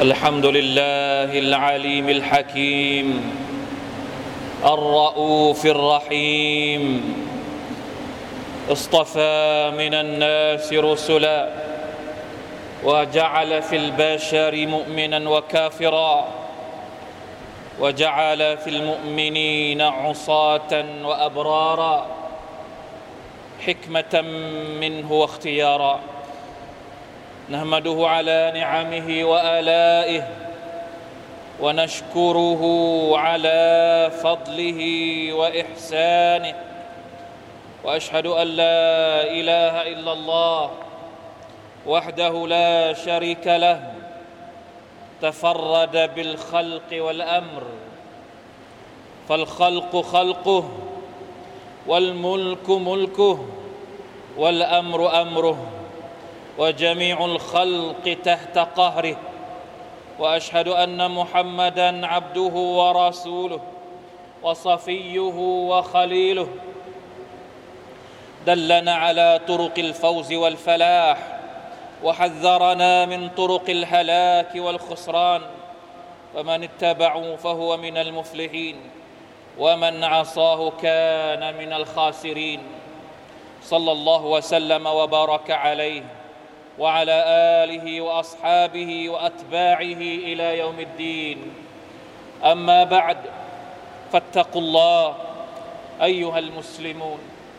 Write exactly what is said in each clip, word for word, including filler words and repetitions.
الحمد لله العليم الحكيم الرؤوف الرحيم اصطفى من الناس رسلا وجعل في البشر مؤمنا وكافرا وجعل في المؤمنين عصاة وأبرارا حكمة منه واختيارا نحمده على نعمه وآلائه ونشكره على فضله وإحسانه وأشهد أن لا إله إلا الله وحده لا شريك له تفرد بالخلق والأمر فالخلق خلقه والملك ملكه والأمر أمره وجميع الخلق تحت قهره وأشهد أن محمدًا عبده ورسوله وصفيه وخليله دلنا على طرق الفوز والفلاح وحذرنا من طرق الهلاك والخسران فمن اتبعه فهو من المفلحين ومن عصاه كان من الخاسرين صلى الله وسلم وبارك عليه وعلى آله وأصحابه وأتباعه إلى يوم الدين أما بعد فاتقوا الله أيها المسلمون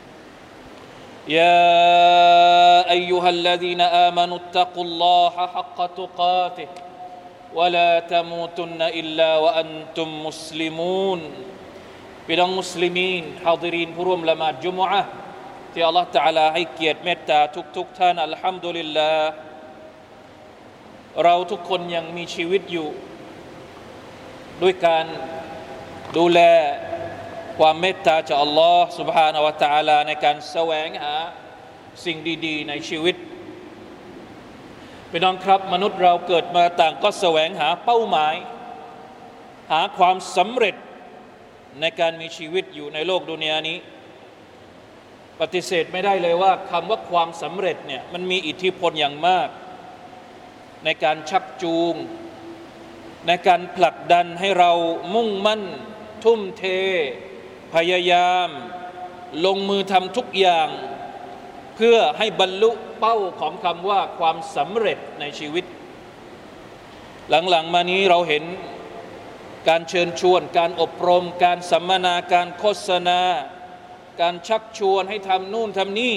يا أيها الذين آمنوا اتقوا الله حق تقاته ولا تموتن إلا وأنتم مسلمون พี่น้องมุสลิมีนฮาดิรีนผู้ร่วมละหมาดจุมอะห์ที่อัลเลาะห์ตะอาลาให้เกียรติเมตตาทุกๆท่านอัลฮัมดุลิลลาห์เราทุกคนยังมีชีวิตอยู่ด้วยการดูแลความเมตตาจากอัลลอฮ์ سبحانه และ تعالى ในการแสวงหาสิ่งดีๆในชีวิตพี่น้องครับมนุษย์เราเกิดมาต่างก็แสวงหาเป้าหมายหาความสำเร็จในการมีชีวิตอยู่ในโลกดุนยานี้ปฏิเสธไม่ได้เลยว่าคำว่าความสำเร็จเนี่ยมันมีอิทธิพลอย่างมากในการชักจูงในการผลักดันให้เรามุ่งมั่นทุ่มเทพยายามลงมือทำทุกอย่างเพื่อให้บรรลุเป้าของคำว่าความสำเร็จในชีวิตหลังๆมานี้เราเห็นการเชิญชวนการอบรมการสัมมนาการโฆษณาการชักชวนให้ทำนู่นทำนี่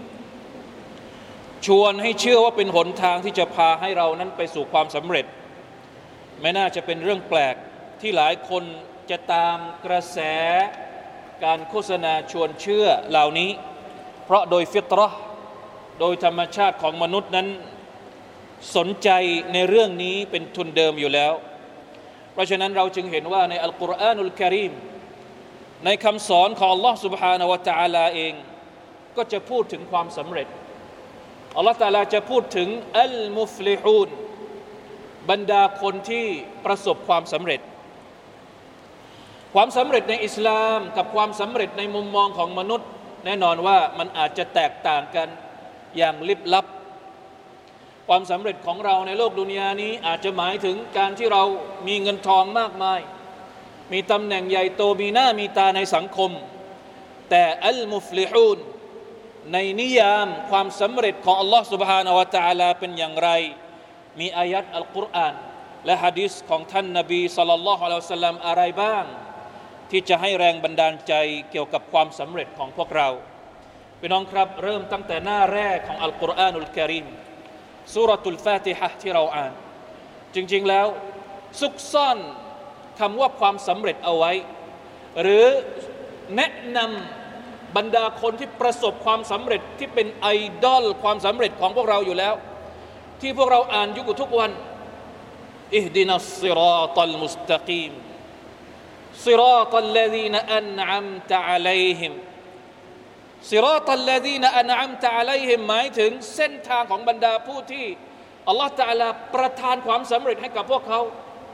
ชวนให้เชื่อว่าเป็นหนทางที่จะพาให้เรานั้นไปสู่ความสำเร็จไม่น่าจะเป็นเรื่องแปลกที่หลายคนจะตามกระแสการโฆษณาชวนเชื่อเหล่านี้เพราะโดยฟิตเราะห์โดยธรรมชาติของมนุษย์นั้นสนใจในเรื่องนี้เป็นทุนเดิมอยู่แล้วเพราะฉะนั้นเราจึงเห็นว่าในอัลกุรอานุลกะรีมในคำสอนของ Allah سبحانه และ تعالى เองก็จะพูดถึงความสำเร็จ Allah تعالى จะพูดถึงอัลมุฟลิฮูนบรรดาคนที่ประสบความสำเร็จความสำเร็จในอิสลามกับความสำเร็จในมุมมองของมนุษย์แน่นอนว่ามันอาจจะแตกต่างกันอย่างลิบลับความสำเร็จของเราในโลกดุนยานี้อาจจะหมายถึงการที่เรามีเงินทองมากมายมีตำแหน่งใหญ่โตมีหน้ามีตาในสังคมแต่อัลมุฟลิฮูนในนิยามความสำเร็จของอัลลอฮฺ سبحانه และ تعالى เป็นอย่างไรมีอายัดอัลกุรอานและหะดีษของท่านนบีศ็อลลัลลอฮุอะลัยฮิวะซัลลัมอะไรบ้างที่จะให้แรงบันดาลใจเกี่ยวกับความสำเร็จของพวกเราพี่น้องครับเริ่มตั้งแต่หน้าแรกของอัลกุรอานุลกะรีมซูเราะตุลฟาติฮะห์ที่เราอ่านจริงๆแล้วซุกซ่อนคำว่าความสำเร็จเอาไว้หรือแนะนำบรรดาคนที่ประสบความสำเร็จที่เป็นไอดอลความสำเร็จของพวกเราอยู่แล้วที่พวกเราอ่านอยู่ทุกวันอิฮดินัสศิรอตัลมุสตะกีมศิรอตัลลซีนอันอัมตะอะลัยฮิมศิรอตัลลซีนอันอัมตะอะลัยฮิมหมายถึงเส้นทางของบรรดาผู้ที่อัลลอฮฺตะอาลาประทานความสำเร็จให้กับพวกเขา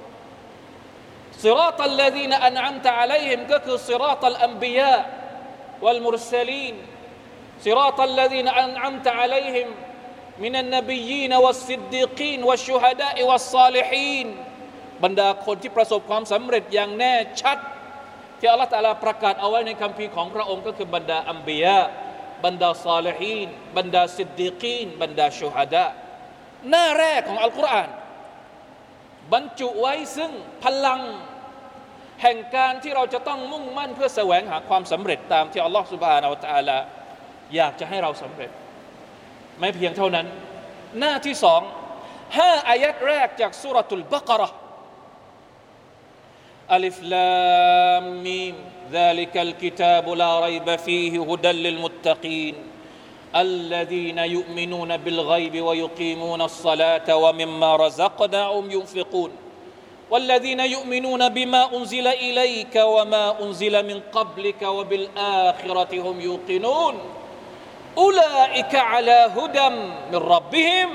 صراط الذين أنعمت عليهم ก็คือ صراط الأنبياء والمرسلين صراط الذين أنعمت عليهم มินันนบียีนวัสซิดดีกีนวัชชุฮดาอิวัสซาลิฮีนบรรดาคนที่ประสบความสำเร็จอย่างแน่ชัดที่อัลลอฮฺตะอาลาประกาศเอาไว้ในคัมภีร์ของพระองค์ก็คือบรรดาอัมบิยะบรรดาซาลิฮีนบรรดาซิดดีกีนบรรดาชุฮดาหน้าแรกของอัลกุรอานบรรจุไว้ซึ่งพลังแห่งการที่เราจะต้องมุ่งมั่นเพื่อแสวงหาความสำเร็จตามที่อัลลอฮฺซุบฮานะฮูวะตะอาลาอยากจะให้เราสำเร็จไม่เพียงเท่านั้นหน้าที่สองห้าอายัดแรกจากซูเราะตุลบะเกาะเราะห์อัลิฟลามมีม ذلك الكتاب لا ريب فيه هدى للمتقين الذين يؤمنون بالغيب ويقيمون الصلاة ومما رزقناهم ينفقون والذين يؤمنون بما أنزل إليك وما أنزل من قبلك وبالآخرة هم يوقنون أولئك على هدى من ربهم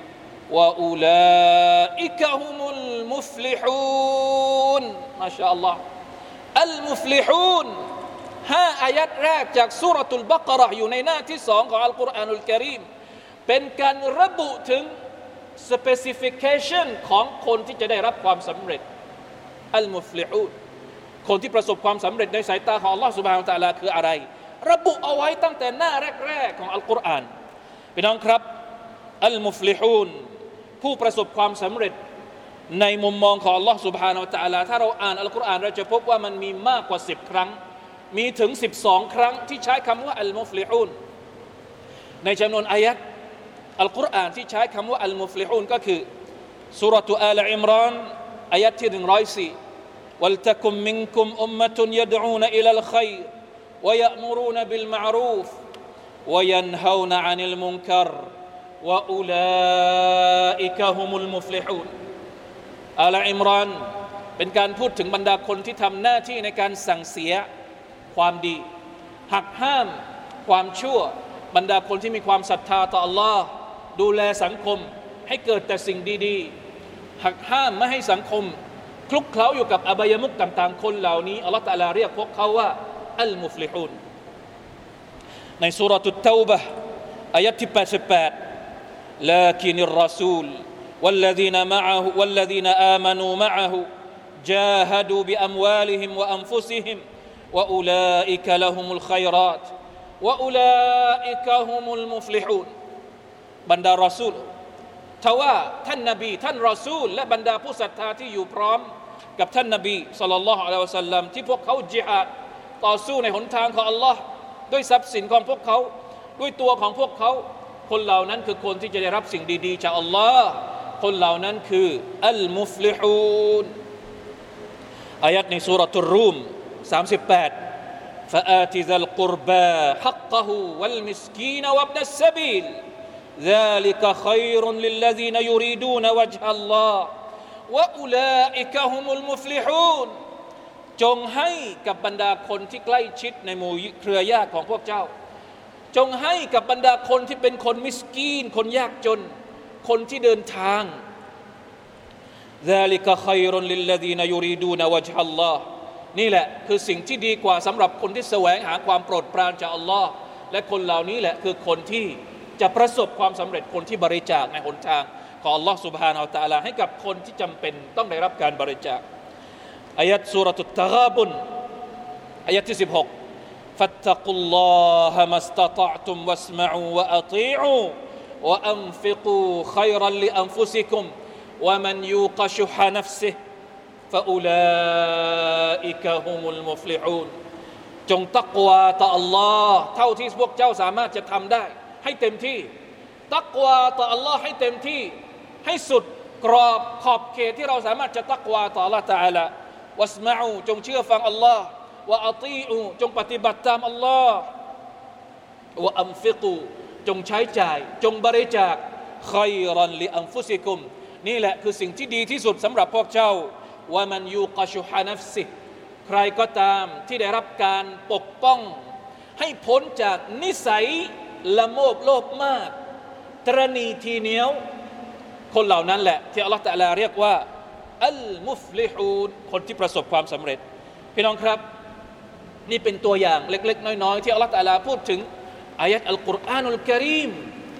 وأولئك هم المفلحون ما شاء الله المفلحون ห้าอายัดแรกจากซูเราะตุลบะเกาะเราะห์อยู่ในหน้าที่สองของอัลกุรอานุลกะรีมเป็นการระบุถึง specification ของคนที่จะได้รับความสำเร็จอัลมุฟลิฮูนคนที่ประสบความสำเร็จในสายตาของอัลลอฮฺซุบฮานะฮูวะตะอาลาคืออะไรระบุเอาไว้ตั้งแต่หน้าแรกๆของอัลกุรอานพี่น้องครับอัลมุฟลิฮูนผู้ประสบความสำเร็จในมุมมองของอัลลอฮฺซุบฮานะฮูวะตะอาลาถ้าเราอ่านอัลกุรอานเราจะพบว่ามันมีมากกว่าสิบครั้งมีถึงสิบสองครั้งที่ใช้คำว่าอัลมุฟลิฮูนในจำนวนอายัดอัลกุรอานที่ใช้คำว่าอัลมุฟลิฮูนก็คือซูเราะตุอาลอิมรานอายัดที่หนึ่งร้อยสี่วัลตะกุมมินกุมอุมมะตุนยะดอูนอิลัลค็อยรويأمرون بالمعروف وينهون عن المنكر وأولئك هم المفلحون อาลอิมรานเป็นการพูดถึงบรรดาคนที่ทำหน้าที่ในการสั่งเสียความดีหักห้ามความชั่วบรรดาคนที่มีความศรัทธาต่อ Allah ดูแลสังคมให้เกิดแต่สิ่งดีๆหักห้ามไม่ให้สังคมคลุกเคล้าอยู่กับอบายมุขต่างๆคนเหล่านี้อัลเลาะห์ตะอาลาเรียกพวกเขาว่าอัลมุฟลิฮูนในซูเราะตุตเตาบะห์อายะห์ที่แปดสิบแปด لكن الرسول والذين معه والذين آمنوا معه جاهدوا بأموالهم وأنفسهم وأولئك لهم الخيرات وأولئك هم المفلحون บรรดารอซูลทว่าท่านนบีท่านรอซูลและบรรดาผู้ศรัทธาที่อยู่พร้อมกับท่านนบีศ็อลลัลลอฮุอะลัยฮิวะซัลลัมที่พวกเขาญิฮาดต่อสู้ในหนทางของอัลลอฮ์ด้วยทรัพย์สินของพวกเขาด้วยตัวของพวกเขาคนเหล่านั้นคือคนที่จะได้รับสิ่งดีๆจากอัลลอฮ์คนเหล่านั้นคืออัลมุฟลิฮูนอายัดในซูเราะตุรรูมสามสิบแปด فآت ذا القربى حقه والمسكين وابن السبيل ذلك خير للذين يريدون وجه الله وأولئك هم المفلحونจงให้กับบรรดาคนที่ใกล้ชิดในหมู่เครือญาติของพวกเจ้าจงให้กับบรรดาคนที่เป็นคนมิสกีนคนยากจนคนที่เดินทาง ذلك خير للذين يريدون وجه الله นี่แหละคือสิ่งที่ดีกว่าสำหรับคนที่แสวงหาความโปรดปรานจากอัลลอฮ์และคนเหล่านี้แหละคือคนที่จะประสบความสำเร็จคนที่บริจาคในหนทางของอัลลอฮ์ سبحانه และ تعالى ให้กับคนที่จำเป็นต้องได้รับการบริจาคอายะห์ซูเราะตุตตะฆาบุนอายะห์ที่สิบหก فاتقوا الله ما استطعتم واسمعوا وأطيعوا وأنفقوا خيرا لأنفسكم ومن يوق شح نفسه فأولئك هم المفلحون จงตักวาต่อ Allah เท่าที่พวกเจ้าสามารถจะทำได้ให้เต็มที่ตักวาต่อ Allah ให้เต็มที่ให้สุดกรอบขอบเขตที่เราสามารถจะตักวาต่อ Allah تعالى วัสมาอูจงเชื่อฟัง Allah วะอาตีอูจงปฏิบัติตาม Allah วะอัมฟิกูจงใช้จ่ายจงบริจาคค็อยรันลิอันฟุซิกุมนี่แหละคือสิ่งที่ดีที่สุดสำหรับพวกเจ้าวะมันยูกะชุฮะนัฟซิใครก็ตามที่ได้รับการปกป้องให้พ้นจากนิสัยละโมบโลภมากตระหนี่ทีเหนียวคนเหล่านั้นแหละที่อัลเลาะห์ตะอาลาเรียกว่าอัลมุฟลิฮูนคนที่ประสบความสำเร็จพี่น้องครับนี่เป็นตัวอย่างเล็กๆน้อยๆที่อัลเลาะห์ตะอาลาพูดถึงอายะห์อัลกุรอานุลกะรีม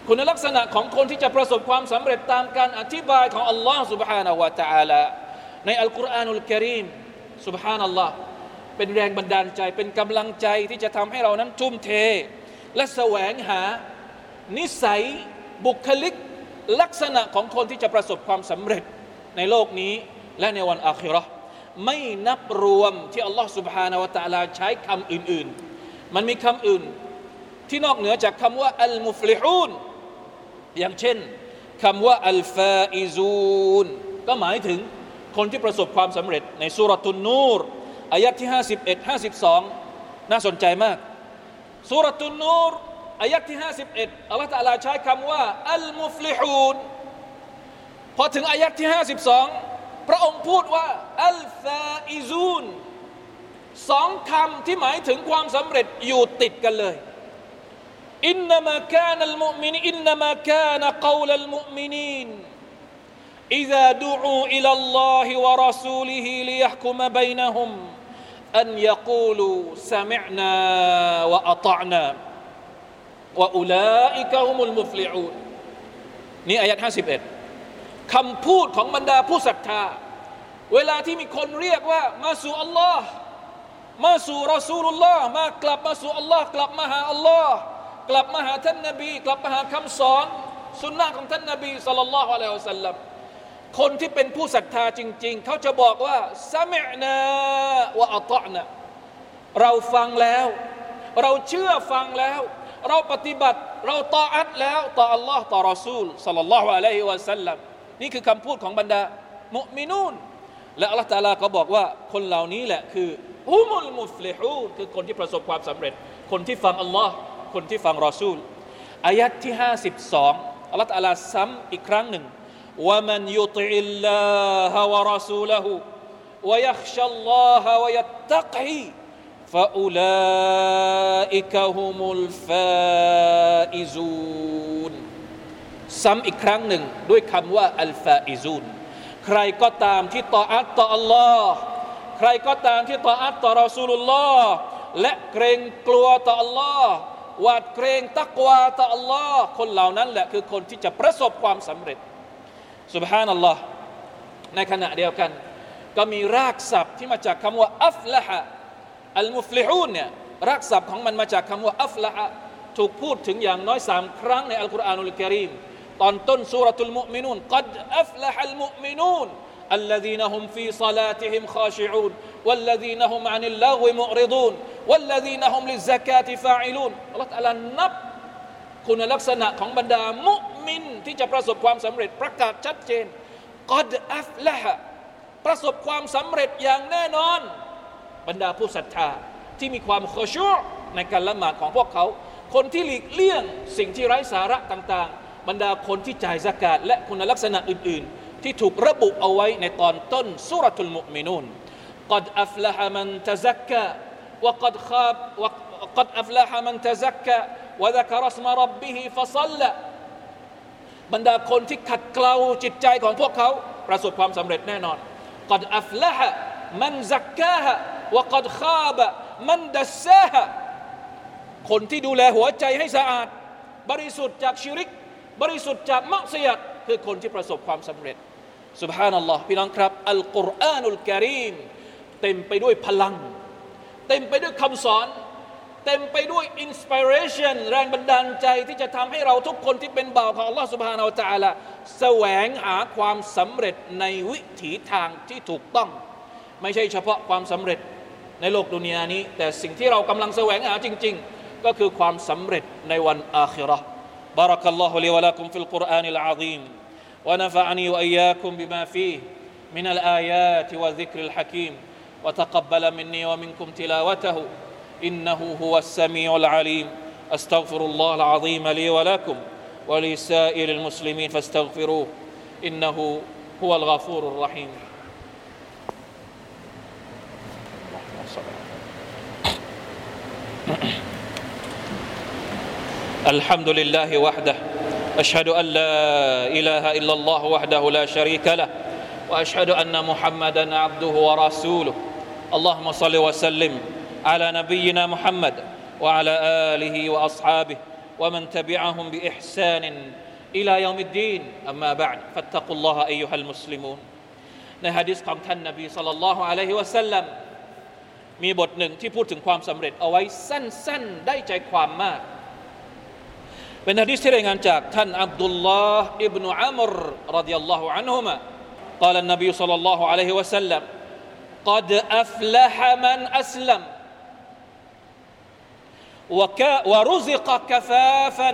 คุณลักษณะของคนที่จะประสบความสำเร็จตามการอธิบายของอัลลอฮ์ سبحانه และ تعالى ในอัลกุรอานุลกะรีม سبحان อัลลอฮ์เป็นแรงบันดาลใจเป็นกำลังใจที่จะทำให้เรานั้นทุ่มเทและแสวงหานิสัยบุคลิกลักษณะของคนที่จะประสบความสำเร็จในโลกนี้และในวันอาคิเราะห์ไม่นับรวมที่อัลลอฮ์ سبحانه และ تعالى ใช้คำอื่นๆมันมีคำอื่นที่นอกเหนือจากคำว่าอัลมุฟลิฮูนอย่างเช่นคำว่าอัลฟาอิซูนก็หมายถึงคนที่ประสบความสำเร็จในซูเราะตุนนูรอายะห์ที่ห้าสิบเอ็ด ห้าสิบสองน่าสนใจมากซูเราะตุนนูรอายะห์ที่ห้าสิบเอ็ดอัลเลาะห์ตะอาลาใช้คำว่าอัลมุฟลิฮูนพอถึงอายะห์ที่ห้าสิบสองพระองค์พูดว่าอัลฟาอิซูนสองคำที่หมายถึงความสำเร็จอยู่ติดกันเลยอินนามะกานัลมุอ์มินอินนามะกานะกอลัลมุอ์มินีนอิซาดุอูอิลัลลอฮิวะรอซูลิฮิลิยะห์กุมะบัยนะฮุมอันยะกูลูซะมิอ์นาวะอะฏอ์นาวะอุลาอิกะฮุมุลมุฟลิฮูนนี่อายะห์ห้าสิบเอ็ดคำพูดของบรรดาผู้ศรัทธาเวลาที่มีคนเรียกว่ามาสู่อัลลอฮ์มาสู่รอซูลุลลอฮ์มากลับมาสู่อัลลอฮ์กลับมาหาอัลลอฮ์กลับมาหาท่านนบีกลับมาหาคำสอนสุนนะของท่านนบีศ็อลลัลลอฮุอะลัยฮิวะซัลลัมคนที่เป็นผู้ศรัทธาจริงๆเขาจะบอกว่าซะมิอ์นาวะอะฏอ์นะเราฟังแล้วเราเชื่อฟังแล้วเราปฏิบัติเราตออัตแล้วต่ออัลลอฮ์ต่อรอซูลศ็อลลัลลอฮุอะลัยฮิวะซัลลัมนี่คือคำพูดของบรรดามุมินูนและอัลเลาะห์ตะอาลาก็บอกว่าคนเหล่านี้แหละคือฮุมุลมุฟลิฮูนคือคนที่ประสบความสำเร็จคนที่ฟังอัลลอฮ์คนที่ฟังรอซูลอายะห์ที่ห้าสิบสองอัลเลาะห์ตะอาลาซ้ำอีกครั้งหนึ่งวะมันยุติอิลลาฮะวะรอซูละฮูวะยัคชัลลอฮะวะยัตตักีฟะอูลาอิกะฮุมุลฟาอิซูนซ้ำอีกครั้งหนึ่งด้วยคำว่าอัลฟาอิซูนใครก็ตามที่ตออัตต่ออัลลอฮ์ใครก็ตามที่ตออัตต่อรอซูลุลลอฮ์และเกรงกลัวต่ออัลลอฮ์หวาดเกรงตักวาต่ออัลลอฮ์คนเหล่านั้นแหละคือคนที่จะประสบความสำเร็จซุบฮานัลลอฮ์ในขณะเดียวกันก็มีรากศัพท์ที่มาจากคำว่าอัฟละฮะอัลมุฟลิฮูนเนี่ยรากศัพท์ของมันมาจากคำว่าอัฟละฮะถูกพูดถึงอย่างน้อยสามครั้งในอัลกุรอานุลกะรีมตอนต้นซูเราะตุลมุอ์มินูนกัดอัฟละฮัลมุอ์มินูนالذين هم في صلاتهم خاشعون والذين هم عن اللغو معرضون والذين هم للزكاة فاعلون อัลเลาะห์ตะอาลานับคุณลักษณะของบรรดามุมินที่จะประสบความสำเร็จประกาศชัดเจนกัดอัฟละฮะประสบความสำเร็จอย่างแน่นอนบรรดาผู้ศรัทธาที่มีความขอชูอ์ในการละหมาดของพวกเขาคนที่หลีกเลี่ยงสิ่งที่ไร้สาระต่างๆบรรดาคนที่จ่ายซะกาตและคุณลักษณะอื่นๆที่ถูกระบุเอาไว้ในตอนต้นซูเราะตุลมุอ์มินูนกัดอัฟละฮะมันตะซักกะวะกัดคาบวะกัดอัฟละฮะมันตะซักกะวะซะกะรัสมะร็อบบิฮิฟะศ็อลละบรรดาคนที่ขัดเกลาจิตใจของพวกเขาประสบความสำเร็จแน่นอนกัดอัฟละฮะมันซักกะฮะวะกัดคาบะมันดัสซาฮะคนที่ดูแลหัวใจให้สะอาดบริสุทธิ์จากชิริกบริสุทธิ์จากมักซิยะฮ์คือคนที่ประสบความสำเร็จซุบฮานัลลอฮ์พี่น้องครับอัลกุรอานุลกะรีมเต็มไปด้วยพลังเต็มไปด้วยคำสอนเต็มไปด้วยอินสปิเรชันแรงบันดาลใจที่จะทำให้เราทุกคนที่เป็นบ่าวของอัลลอฮ์ซุบฮานะฮูวะตะอาลาแสวงหาความสำเร็จในวิถีทางที่ถูกต้องไม่ใช่เฉพาะความสำเร็จในโลกดุนยานี้แต่สิ่งที่เรากำลังแสวงหาจริงๆก็คือความสำเร็จในวันอาคิเราะห์بارك الله لي ولكم في القرآن العظيم ونفعني وإياكم بما فيه من الآيات والذكر الحكيم وتقبل مني ومنكم تلاوته إنه هو السميع العليم أستغفر الله العظيم لي ولكم ولسائر المسلمين فاستغفروه إنه هو الغفور الرحيم الحمد لله وحده أشهد أن لا إله إلا الله وحده لا شريك له وأشهد أن محمدا عبده ورسوله اللهم صل وسلم على نبينا محمد وعلى آله وأصحابه ومن تبعهم بإحسان إلى يوم الدين أما بعد فاتقوا الله أيها المسلمون ในหะดีษของท่านนบีศ็อลลัลลอฮุอะลัยฮิวะซัลลัมมีบทหนึ่งที่พูดถึงความสำเร็จเอาไว้สั้นๆได้ใจความมากเป็นหะดีษที่รายงานจากท่านอับดุลลอฮ์อิบนุอัมรรอฎิยัลลอฮุอันฮุมะ قال النبي صلى الله عليه وسلم قد أفلح من أسلم ورزق كفافا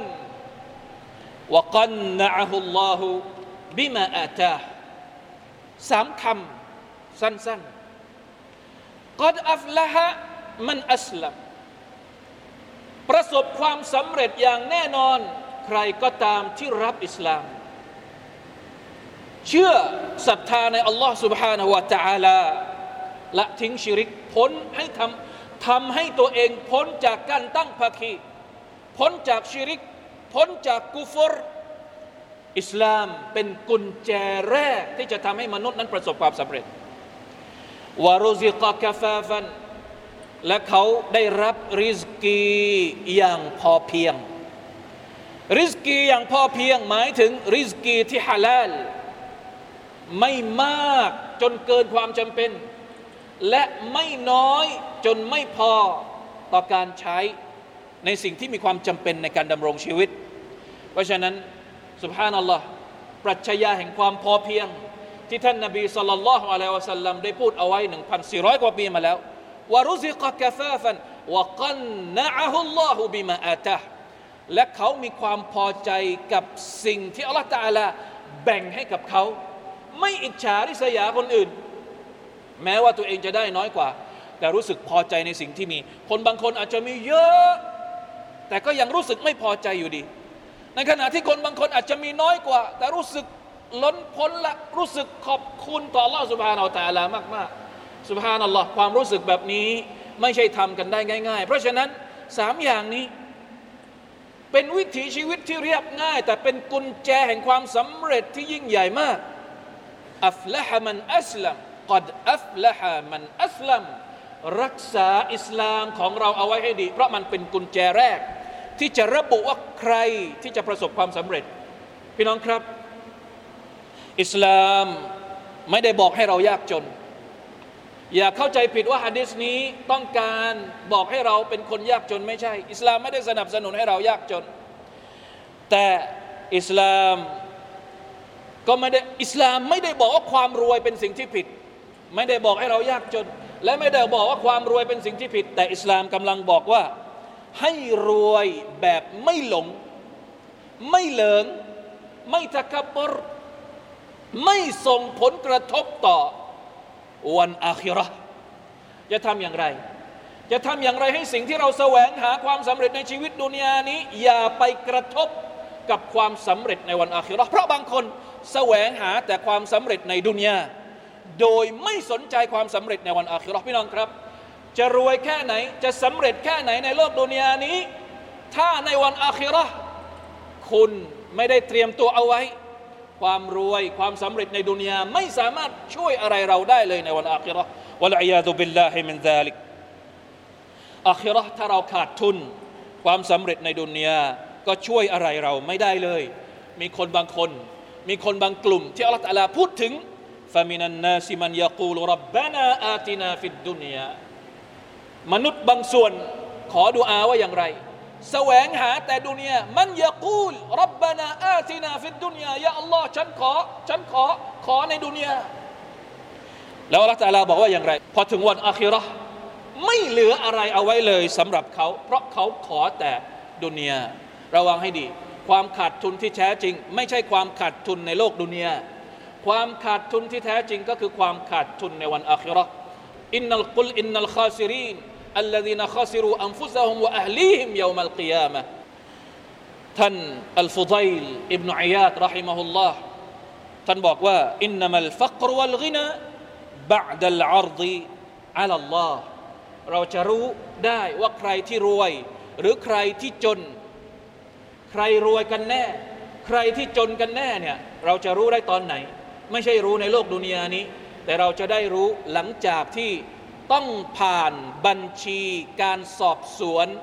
وقنعه الله بما آتاه สามคำสั้นๆ قد أفلح من أسلم ประสบความสำเร็จอย่างแน่นอนใครก็ตามที่รับอิสลามเชื่อศรัทธาในอัลลอฮ์ سبحانه และ تعالى ละทิ้งชิริกพ้นให้ทำทำให้ตัวเองพ้นจากการตั้งภาคีพ้นจากชิริกพ้นจากกุฟรอิสลามเป็นกุญแจแรกที่จะทำให้มนุษย์นั้นประสบความสำเร็จวะรุซิกะกะฟาฟันและเขาได้รับริซกีอย่างพอเพียงริซกีอย่างพอเพียงหมายถึงริซกีที่ฮาลาลไม่มากจนเกินความจำเป็นและไม่น้อยจนไม่พอต่อการใช้ในสิ่งที่มีความจำเป็นในการดำรงชีวิตเพราะฉะนั้นซุบฮานัลลอฮ์ปรัชญาแห่งความพอเพียงที่ท่านนบีศ็อลลัลลอฮุอะลัยฮิวะซัลลัมได้พูดเอาไว้ หนึ่งพันสี่ร้อย กว่าปีมาแล้ววะรุซิกะกะฟาฟันวะกัณนะอะฮุลลอฮุบิมาอาตะฮ์และเขามีความพอใจกับสิ่งที่อัลเลาะห์ตะอาลาแบ่งให้กับเขาไม่อิจฉาริษยาคนอื่นแม้ว่าตัวเองจะได้น้อยกว่าแต่รู้สึกพอใจในสิ่งที่มีคนบางคนอาจจะมีเยอะแต่ก็ยังรู้สึกไม่พอใจอยู่ดีในขณะที่คนบางคนอาจจะมีน้อยกว่าแต่รู้สึกล้นพ้นละรู้สึกขอบคุณต่ออัลเลาะห์ซุบฮานะฮูวะตะอาลามากๆซุบฮานัลลอฮ์ความรู้สึกแบบนี้ไม่ใช่ทำกันได้ง่ายๆเพราะฉะนั้นสามอย่างนี้เป็นวิถีชีวิตที่เรียบง่ายแต่เป็นกุญแจแห่งความสำเร็จที่ยิ่งใหญ่มากอัฟละฮะมันอัสลัมกัดอัฟละฮะมันอัสลัมรักษาอิสลามของเราเอาไว้ให้ดีเพราะมันเป็นกุญแจแรกที่จะระบุว่าใครที่จะประสบความสำเร็จพี่น้องครับอิสลามไม่ได้บอกให้เรายากจนอย่าเข้าใจผิดว่าหะดีษนี้ต้องการบอกให้เราเป็นคนยากจนไม่ใช่อิสลามไม่ได้สนับสนุนให้เรายากจนแต่อิสลามก็ไม่ได้อิสลามไม่ได้บอกว่าความรวยเป็นสิ่งที่ผิดไม่ได้บอกให้เรายากจนและไม่ได้บอกว่าความรวยเป็นสิ่งที่ผิดแต่อิสลามกำลังบอกว่าให้รวยแบบไม่หลงไม่เหลิงไม่ตะกับบรไม่ส่งผลกระทบต่อวันอาคิเราะห์จะทำอย่างไรจะทำอย่างไรให้สิ่งที่เราแสวงหาความสำเร็จในชีวิตดุนยานี้อย่าไปกระทบกับความสำเร็จในวันอาคิเราะห์เพราะบางคนแสวงหาแต่ความสำเร็จในดุนยาโดยไม่สนใจความสำเร็จในวันอาคิเราะห์พี่น้องครับจะรวยแค่ไหนจะสำเร็จแค่ไหนในโลกดุนยานี้ถ้าในวันอาคิเราะห์คุณไม่ได้เตรียมตัวเอาไว้ความรวยความสำเร็จในดุนยาไม่สามารถช่วยอะไรเราได้เลยในวันอาคิเราะห์วะลัยยาซุบิลลาฮิมินซาลิกอาคิเราะห์ถ้าเราขาดทุนความสำเร็จในดุนยาก็ช่วยอะไรเราไม่ได้เลยมีคนบางคนมีคนบางกลุ่มที่อัลเลาะห์ตะอาลาพูดถึงฟะมินันนาซิมันยะกูลุร็อบบานาอาตินาฟิดดุนยามนุษย์บางส่วนขอดุอาว่าอย่างไรแสวงหาแต่ดุนยามันยะกูลร็อบบานาอาตินาฟิดดุนยายาอัลลอฮ์ฉันขอฉันขอขอในดุนยาแล้วอัลเลาะห์ตะอาลาบอกว่าอย่างไรพอถึงวันอาคิเราะห์ไม่เหลืออะไรเอาไว้เลยสำหรับเขาเพราะเขาขอแต่ดุนยาระวังให้ดีความขาดทุนที่แท้จริงไม่ใช่ความขาดทุนในโลกดุนยาความขาดทุนที่แท้จริงก็คือความขาดทุนในวันอาคิเราะห์อินนัลกุลอินนัลคาซิรีนอัลลซีนคาซิรูอันฟุซะฮุมวะอะห์ลีฮิมยอมัลกิยามะฮ์ท่านอัลฟุฎัยลอิบนุอิยาดเราะฮิมะฮุลลอฮ์ท่านบอกว่าอินนัมัลฟักรวัลกินาบะอ์ดัลอัรฎิอะลัลลอฮ์เราจะรู้ได้ว่าใครที่รวยหรือใครที่จนใครรวยกันแน่ใครที่จนกันแน่เนี่ยเราจะรู้ได้ตอนไหนไม่ใช่รู้ในโลกดุนยานี้แต่เราจะได้รู้หลังจากที่ต้องผ่านบัญชีการสอบสวน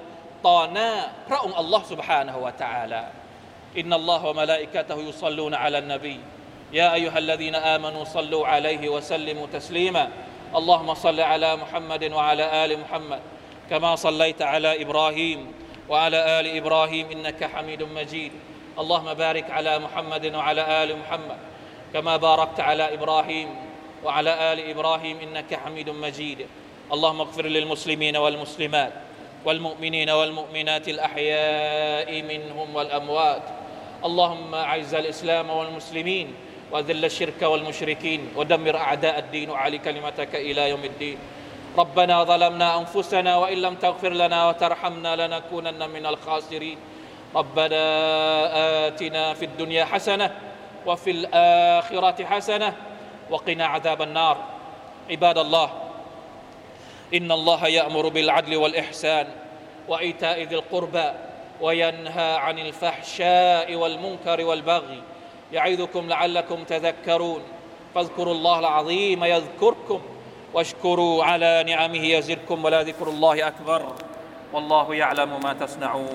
ต่อหน้าพระองค์อัลลอฮ์ سبحانه และ تعالى إن الله وملائكته يصلون على النبي يا أيها الذين آمنوا صلوا عليه وسلموا تسليما اللهم صل على محمد وعلى آل محمد كما صليت على إبراهيم وعلى آل إبراهيم إنك حميد مجيد اللهم بارك على محمد وعلى آل محمد كما باركت على إبراهيم وعلى آل إبراهيم إنك حميد مجيد اللهم اغفر للمسلمين والمسلمات والمؤمنين والمؤمنات الأحياء منهم والأموات اللهم أعز الإسلام والمسلمين وذل الشرك والمشركين ودمر أعداء الدين وعلي كلمتك إلى يوم الدين ربنا ظلمنا أنفسنا وإن لم تغفر لنا وترحمنا لنكونن من الخاسرين ربنا آتنا في الدنيا حسنة وفي الآخرة حسنة وقنا عذاب النار عباد الله إن الله يأمر بالعدل والإحسان وإيتاء ذي القربى وينهى عن الفحشاء والمنكر والبغي يعظكم لعلكم تذكرون فاذكروا الله العظيم يذكركم واشكروا على نعمه يزدكم ولذكر الله أكبر والله يعلم ما تصنعون